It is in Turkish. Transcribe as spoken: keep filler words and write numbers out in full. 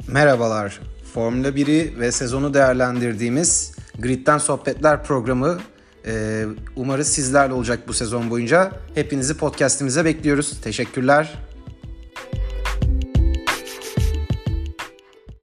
Merhabalar, Formula biri ve sezonu değerlendirdiğimiz Grid'den Sohbetler programı e, umarız sizlerle olacak bu sezon boyunca. Hepinizi podcast'imize bekliyoruz. Teşekkürler.